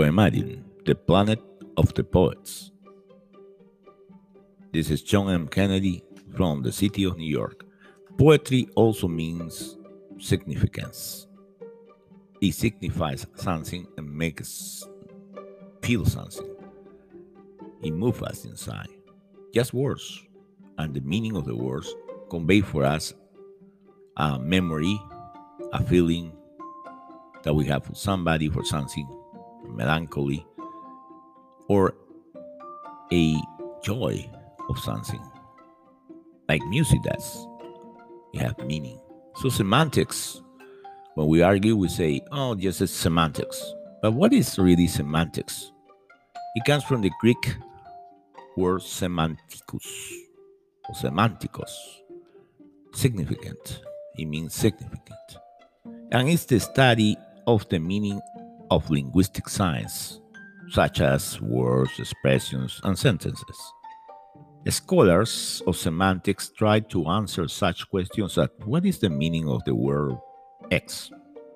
Poemarium, the planet of the poets. This is John M. Kennedy from the city of New York. Poetry also means significance. It signifies something and makes us feel something. It moves us inside. Just words and the meaning of the words convey for us a memory, a feeling that we have for somebody, for something, melancholy, or a joy of something, like music does. It has meaning. So semantics, when we argue, we say, oh, just it's semantics. But what is really semantics? It comes from the Greek word semantikus, or semantikos, significant. It means significant. And it's the study of the meaning of linguistic science, such as words, expressions, and sentences. Scholars of semantics try to answer such questions as what is the meaning of the word X?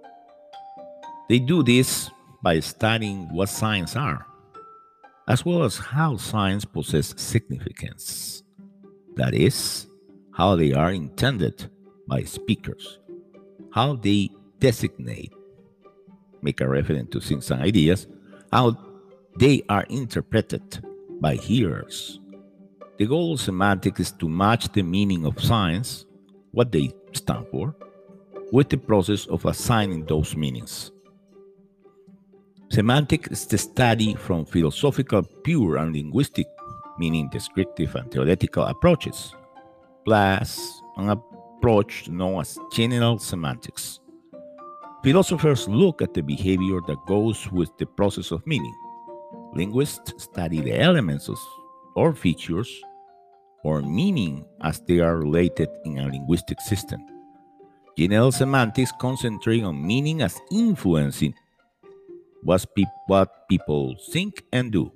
They do this by studying what signs are, as well as how signs possess significance. That is, how they are intended by speakers, how they designate, make a reference to things and ideas, how they are interpreted by hearers. The goal of semantics is to match the meaning of signs, what they stand for, with the process of assigning those meanings. Semantics is the study from philosophical, pure, and linguistic, meaning descriptive and theoretical approaches, plus an approach known as general semantics. Philosophers look at the behavior that goes with the process of meaning. Linguists study the elements or features or meaning as they are related in a linguistic system. General semantics concentrate on meaning as influencing what people think and do.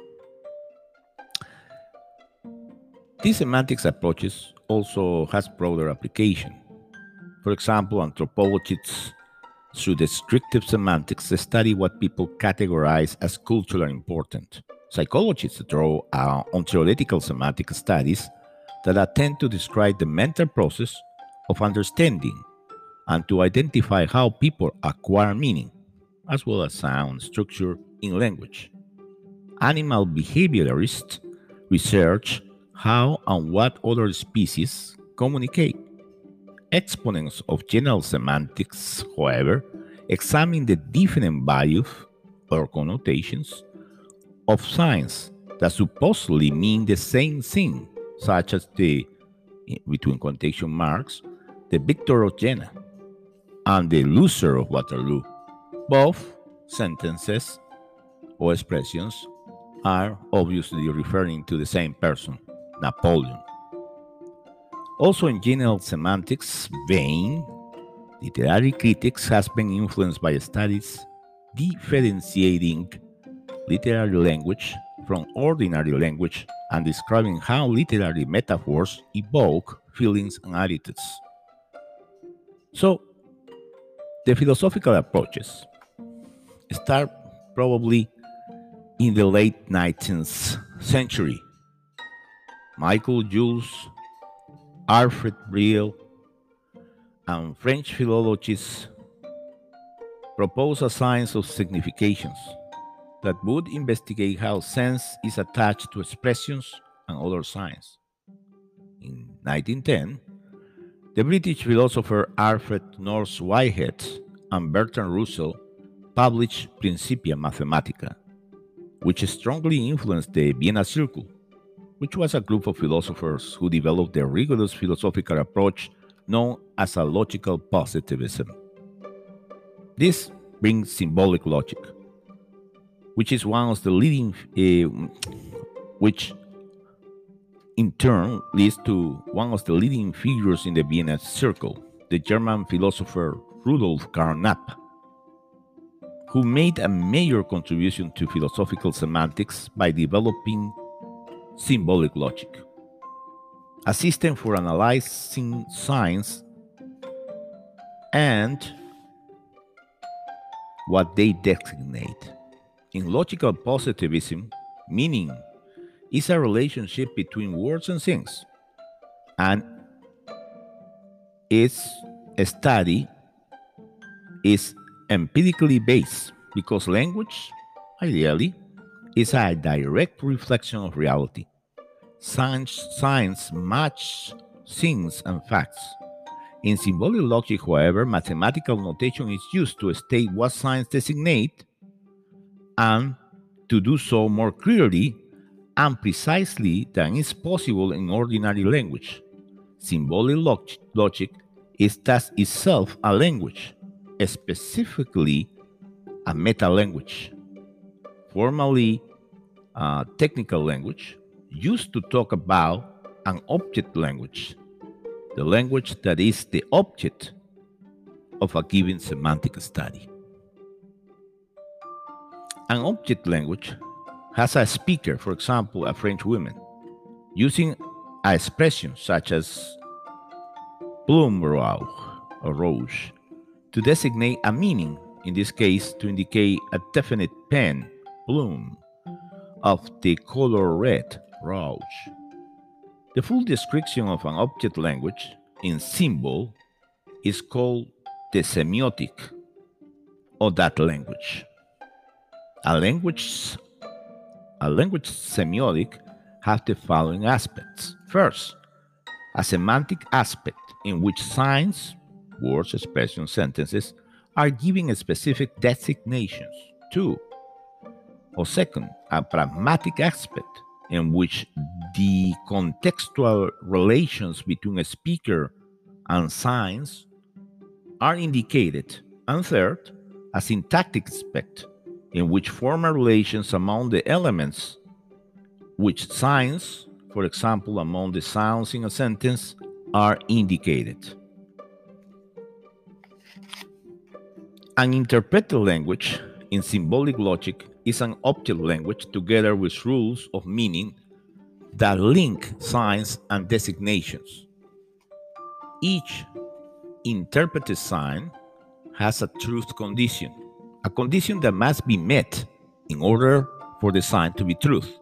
These semantics approaches also has broader application. For example, anthropologists through descriptive semantics study what people categorize as culturally important. Psychologists draw on theoretical semantic studies that attempt to describe the mental process of understanding and to identify how people acquire meaning, as well as sound structure in language. Animal behaviorists research how and what other species communicate. Exponents of general semantics, however, examine the different values or connotations of signs that supposedly mean the same thing, such as the, between quotation marks, the victor of Jena and the loser of Waterloo. Both sentences or expressions are obviously referring to the same person, Napoleon. Also in general semantics vein, literary critics has been influenced by studies differentiating literary language from ordinary language and describing how literary metaphors evoke feelings and attitudes. So, the philosophical approaches start probably in the late 19th century. Michael Jules, Alfred Briel, and French philologists propose a science of significations that would investigate how sense is attached to expressions and other signs. In 1910, the British philosopher Alfred North Whitehead and Bertrand Russell published Principia Mathematica, which strongly influenced the Vienna Circle, which was a group of philosophers who developed the rigorous philosophical approach known as a logical positivism. This brings symbolic logic, which is one of the leading, which in turn leads to one of the leading figures in the Vienna Circle, the German philosopher Rudolf Carnap, who made a major contribution to philosophical semantics by developing symbolic logic, a system for analyzing signs and what they designate. In logical positivism, meaning is a relationship between words and things, and its study is empirically based because language, ideally, is a direct reflection of reality. Science match things and facts. In symbolic logic, however, mathematical notation is used to state what signs designate and to do so more clearly and precisely than is possible in ordinary language. Symbolic logic is thus itself a language, specifically a meta-language, formally a technical language, used to talk about an object language, the language that is the object of a given semantic study. An object language has a speaker, for example, a French woman, using an expression such as plume rouge or rouge to designate a meaning, in this case to indicate a definite pen, plume, of the color red, rouge. The full description of an object language in symbol is called the semiotic of that language. A language semiotic has the following aspects. First, a semantic aspect in which signs, words, expressions, sentences are given specific designations. Two, or second, a pragmatic aspect in which the contextual relations between a speaker and signs are indicated. And third, a syntactic aspect in which formal relations among the elements which signs, for example, among the sounds in a sentence, are indicated. An interpreted language in symbolic logic is an object language together with rules of meaning that link signs and designations. Each interpreted sign has a truth condition, a condition that must be met in order for the sign to be truth.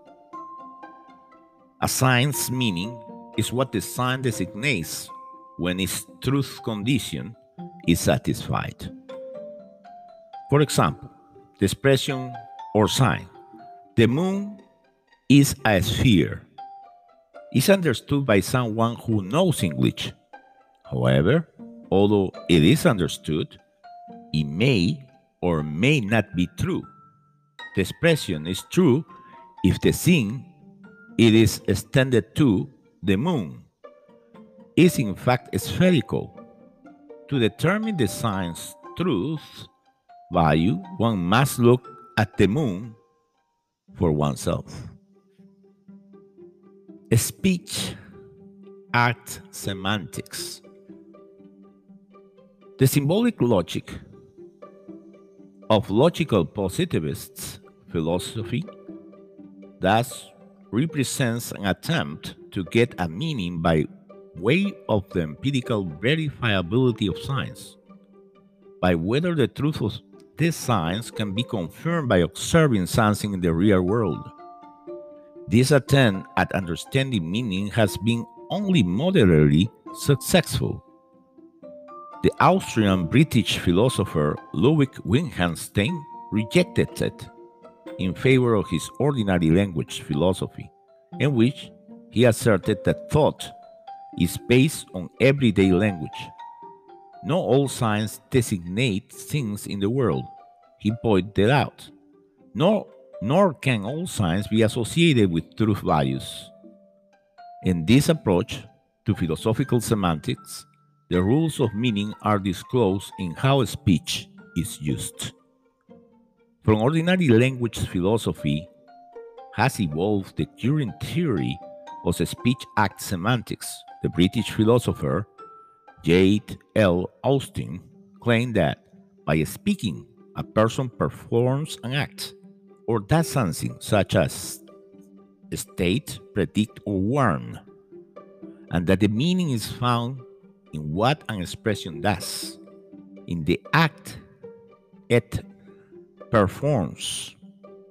A sign's meaning is what the sign designates when its truth condition is satisfied. For example, the expression or sign, the moon is a sphere, is understood by someone who knows English. However, although it is understood, it may or may not be true. The expression is true if the thing it is extended to, the moon, is in fact spherical. To determine the sign's truth value, one must look at the moon for oneself. Speech act semantics. The symbolic logic of logical positivists philosophy thus represents an attempt to get a meaning by way of the empirical verifiability of signs, by whether the truth of these signs can be confirmed by observing something in the real world. This attempt at understanding meaning has been only moderately successful. The Austrian-British philosopher Ludwig Wittgenstein rejected it in favor of his ordinary language philosophy, in which he asserted that thought is based on everyday language. Not all signs designate things in the world, he pointed out, nor can all signs be associated with truth values. In this approach to philosophical semantics, the rules of meaning are disclosed in how speech is used. From ordinary language philosophy has evolved the current theory of speech act semantics. The British philosopher J.L. Austin claimed that by speaking, a person performs an act or does something such as state, predict, or warn, and that the meaning is found in what an expression does, in the act it performs.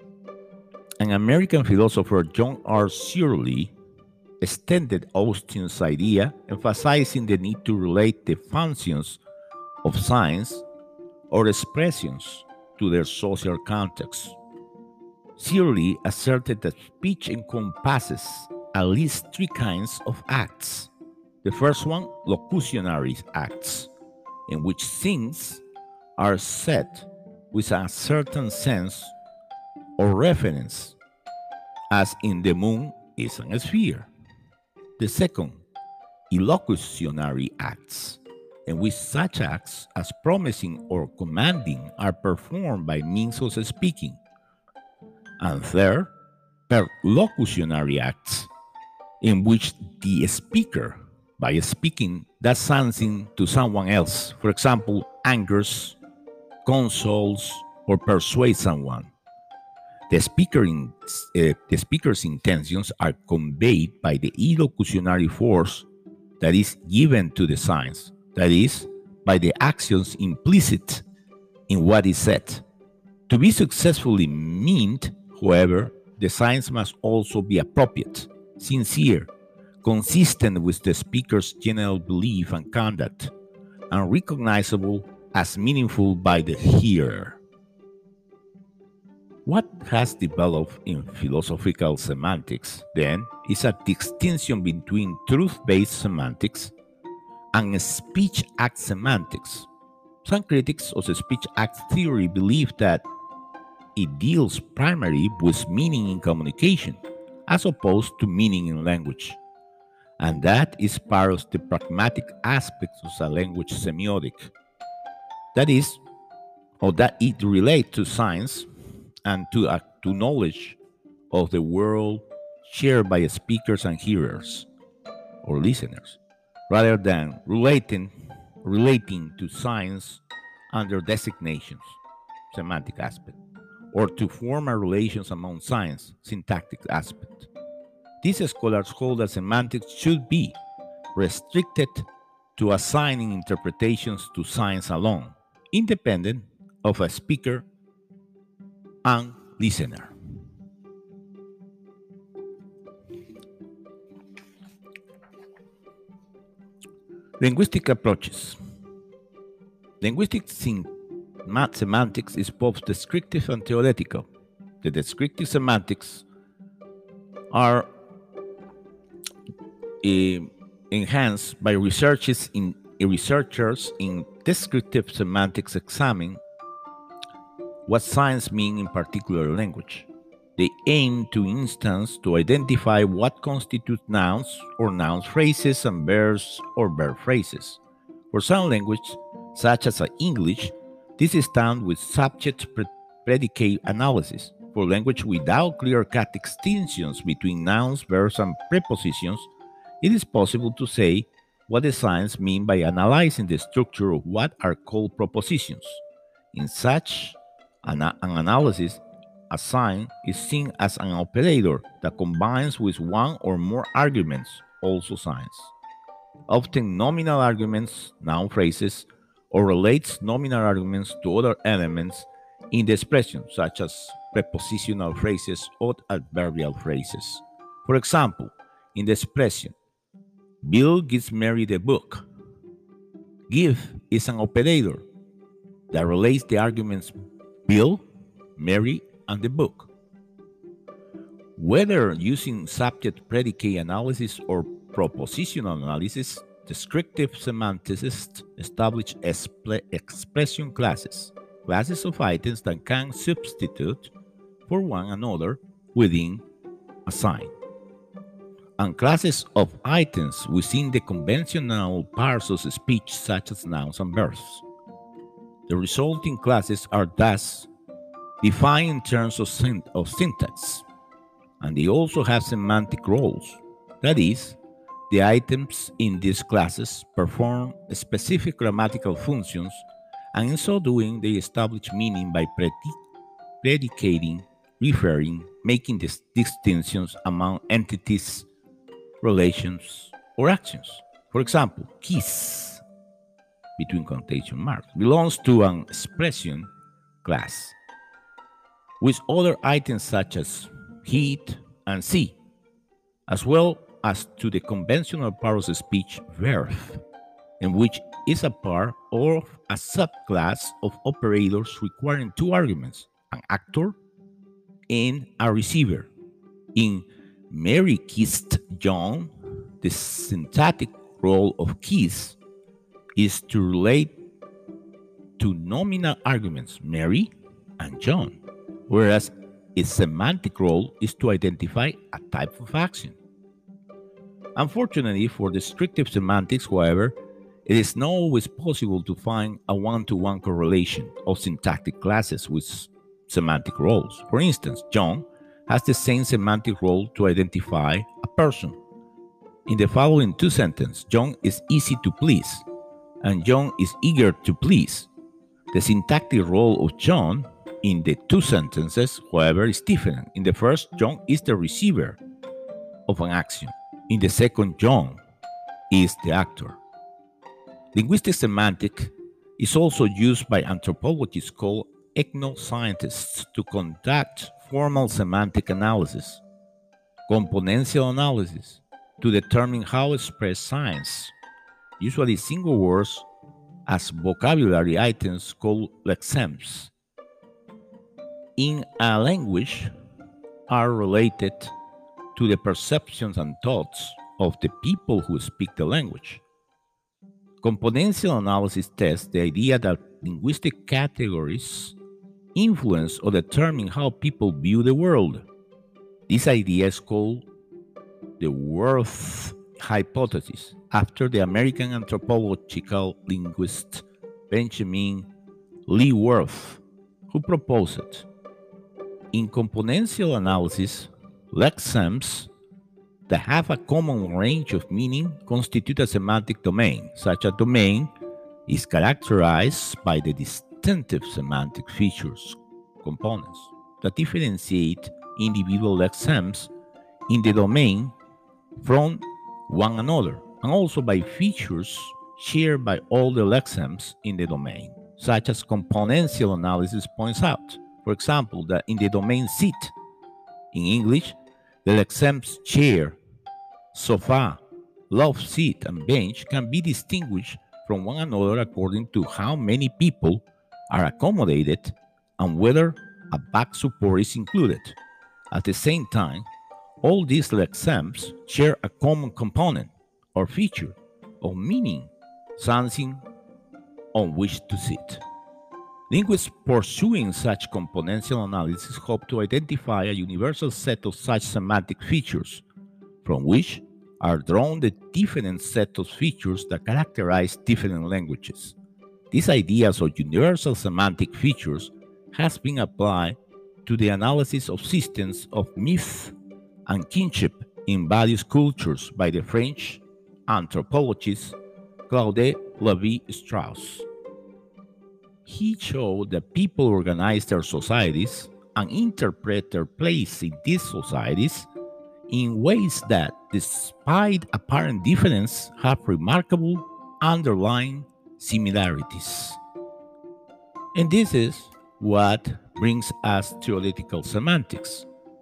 An American philosopher, John R. Searle, extended Austin's idea, emphasizing the need to relate the functions of signs or expressions to their social context. Searle asserted that speech encompasses at least three kinds of acts. The first one, locutionary acts, in which things are said with a certain sense or reference, as in the moon is a sphere. The second, illocutionary acts, in which such acts as promising or commanding are performed by means of speaking. And third, perlocutionary acts, in which the speaker, by speaking, does something to someone else, for example, angers, consoles, or persuades someone. The speaker's intentions are conveyed by the illocutionary force that is given to the signs, that is, by the actions implicit in what is said. To be successfully meant, however, the signs must also be appropriate, sincere, consistent with the speaker's general belief and conduct, and recognizable as meaningful by the hearer. What has developed in philosophical semantics, then, is a distinction between truth-based semantics and speech-act semantics. Some critics of the speech-act theory believe that it deals primarily with meaning in communication, as opposed to meaning in language, and that is part of the pragmatic aspects of a language semiotic. That is, or that it relates to science and to knowledge of the world shared by speakers and hearers or listeners, rather than relating to science under designations, semantic aspect, or to formal relations among science, syntactic aspect. These scholars hold that semantics should be restricted to assigning interpretations to science alone, independent of a speaker and listener. Linguistic approaches. Linguistic semantics is both descriptive and theoretical. The descriptive semantics are enhanced by researchers in descriptive semantics examine what signs mean in particular language. They aim, to instance, to identify what constitutes nouns or noun phrases and verbs or verb phrases. For some languages, such as English, this is done with subject-predicate analysis. For language without clear-cut distinctions between nouns, verbs, and prepositions, it is possible to say what the signs mean by analyzing the structure of what are called propositions. In such an analysis, a sign is seen as an operator that combines with one or more arguments, also signs. Often nominal arguments, noun phrases, or relates nominal arguments to other elements in the expression, such as prepositional phrases or adverbial phrases. For example, in the expression, Bill gives Mary the book, give is an operator that relates the arguments Bill, Mary, and the book. Whether using subject-predicate analysis or propositional analysis, descriptive semanticists establish expression classes of items that can substitute for one another within a sign, and classes of items within the conventional parts of speech, such as nouns and verbs. The resulting classes are thus defined in terms of syntax, and they also have semantic roles. That is, the items in these classes perform specific grammatical functions, and in so doing, they establish meaning by predicating, referring, making distinctions among entities, relations, or actions. For example, kiss, between quotation marks, belongs to an expression class, with other items such as heat, and see, as well as to the conventional part of speech verb, in which is a part or a subclass of operators requiring two arguments, an actor and a receiver. In Mary kissed John, the syntactic role of kiss is to relate to nominal arguments, Mary and John, whereas its semantic role is to identify a type of action. Unfortunately, for descriptive semantics, however, it is not always possible to find a one-to-one correlation of syntactic classes with semantic roles. For instance, John has the same semantic role to identify a person. In the following two sentences, John is easy to please, and John is eager to please. The syntactic role of John in the two sentences, however, is different. In the first, John is the receiver of an action. In the second, John is the actor. Linguistic semantic is also used by anthropologists called ethnoscientists to conduct formal semantic analysis, componential analysis, to determine how to express signs, usually single words, as vocabulary items called lexemes, in a language are related to the perceptions and thoughts of the people who speak the language. Componential analysis tests the idea that linguistic categories influence or determine how people view the world. This idea is called the Worth hypothesis, after the American anthropological linguist Benjamin Lee Worth, who proposed it. In componential analysis, lexemes that have a common range of meaning constitute a semantic domain. Such a domain is characterized by the distinctive semantic features, components, that differentiate individual lexemes in the domain from one another, and also by features shared by all the lexemes in the domain, such as componential analysis points out. For example, that in the domain seat, in English, the lexemes chair, sofa, love seat, and bench can be distinguished from one another according to how many people are accommodated and whether a back support is included. At the same time, all these lexemes share a common component or feature of meaning, something on which to sit. Linguists pursuing such componential analysis hope to identify a universal set of such semantic features, from which are drawn the different set of features that characterize different languages. These ideas of universal semantic features has been applied to the analysis of systems of myth and kinship in various cultures by the French anthropologist Claude Lévi-Strauss. He showed that people organize their societies and interpret their place in these societies in ways that, despite apparent difference, have remarkable underlying similarities. And this is what brings us to theoretical semantics.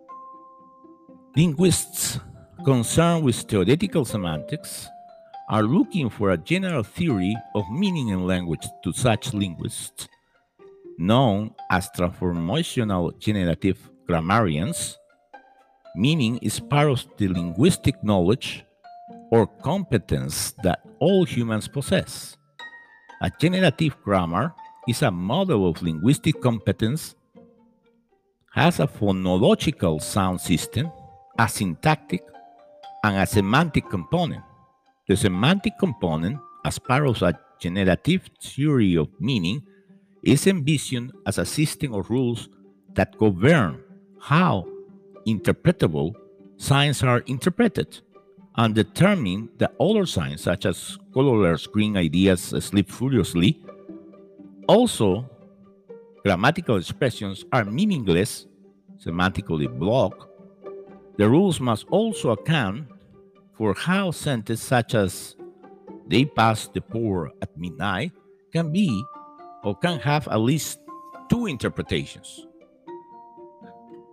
Linguists concerned with theoretical semantics are looking for a general theory of meaning in language. To such linguists, known as transformational generative grammarians, meaning is part of the linguistic knowledge or competence that all humans possess. A generative grammar is a model of linguistic competence, has a phonological sound system, a syntactic, and a semantic component. The semantic component, as part of a generative theory of meaning, is envisioned as a system of rules that govern how interpretable signs are interpreted and determine that other signs, such as colorless screen ideas sleep furiously. Also, grammatical expressions are meaningless, semantically blocked. The rules must also account for how sentences such as "they pass the pour at midnight" can be or can have at least two interpretations.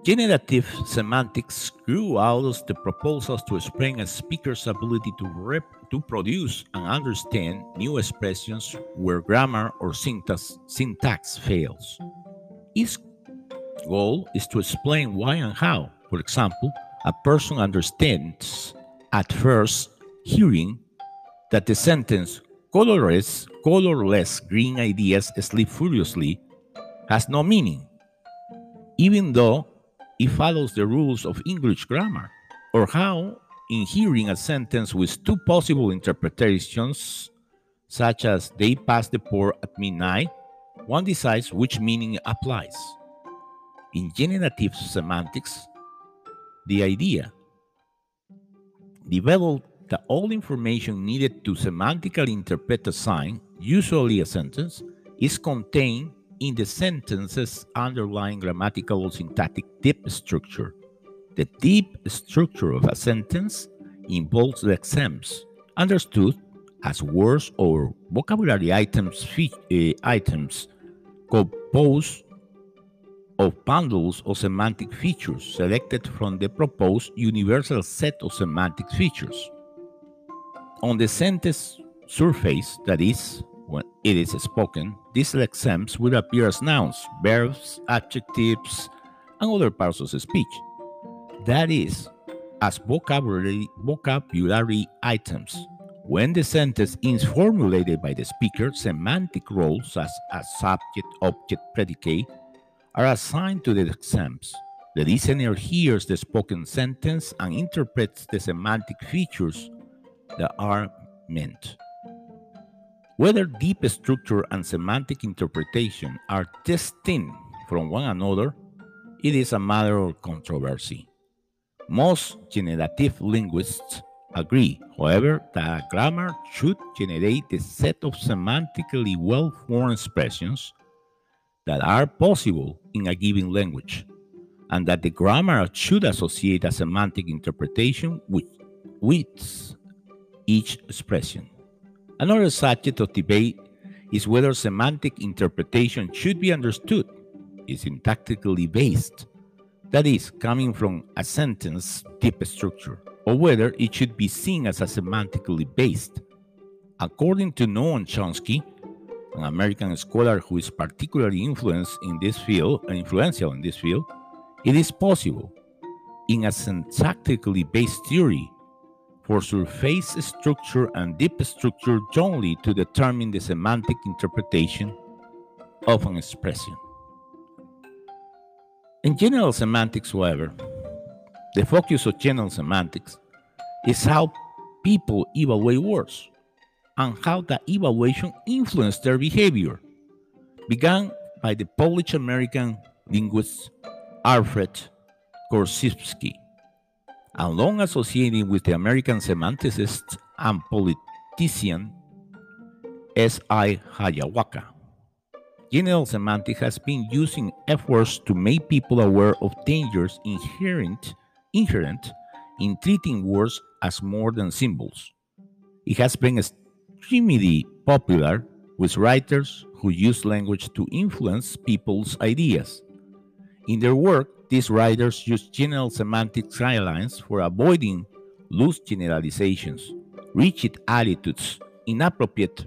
Generative semantics grew out of the proposals to explain a speaker's ability to produce and understand new expressions where grammar or syntax fails. Its goal is to explain why and how. For example, a person understands at first hearing that the sentence colorless green ideas sleep furiously has no meaning, even though it follows the rules of English grammar, or how, in hearing a sentence with two possible interpretations, such as they pass the port at midnight, one decides which meaning applies. In generative semantics, the idea developed that all information needed to semantically interpret a sign, usually a sentence, is contained in the sentence's underlying grammatical or syntactic deep structure. The deep structure of a sentence involves the lexemes, understood as words or vocabulary items composed of bundles of semantic features selected from the proposed universal set of semantic features. On the sentence surface, that is, when it is spoken, these lexemes will appear as nouns, verbs, adjectives, and other parts of the speech. That is, as vocabulary items. When the sentence is formulated by the speaker, semantic roles as subject, object, predicate are assigned to the lexemes. The listener hears the spoken sentence and interprets the semantic features that are meant. Whether deep structure and semantic interpretation are distinct from one another, it is a matter of controversy. Most generative linguists agree, however, that grammar should generate a set of semantically well-formed expressions that are possible in a given language, and that the grammar should associate a semantic interpretation with each expression. Another subject of debate is whether semantic interpretation should be understood is syntactically based, that is, coming from a sentence deep structure, or whether it should be seen as a semantically based. According to Noam Chomsky, an American scholar who is particularly influential in this field, it is possible, in a syntactically based theory, for surface structure and deep structure jointly to determine the semantic interpretation of an expression. In general semantics, however, the focus of general semantics is how people evaluate words and how that evaluation influenced their behavior, began by the Polish-American linguist Alfred Korzybski, and long associated with the American semanticist and politician S.I. Hayakawa. General semantics has been using efforts to make people aware of dangers inherent in treating words as more than symbols. It has been extremely popular with writers who use language to influence people's ideas. In their work, these writers use general semantic guidelines for avoiding loose generalizations, rigid attitudes, inappropriate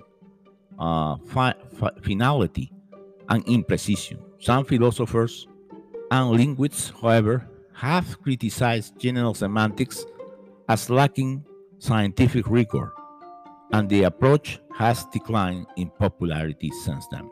finality, and imprecision. Some philosophers and linguists, however, have criticized general semantics as lacking scientific rigor, and the approach has declined in popularity since then.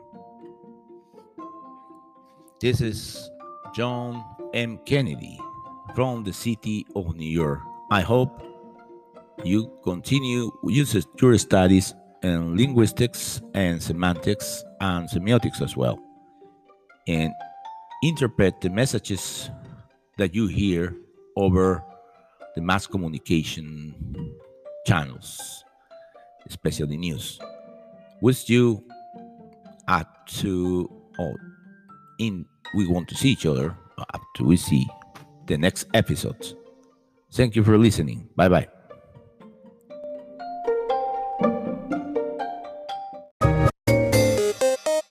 This is John M. Kennedy from the city of New York. I hope you continue your studies in linguistics and semantics and semiotics as well, and interpret the messages that you hear over the mass communication channels, especially news. Wish you we want to see each other up to we see the next episode. Thank you for listening. Bye-bye.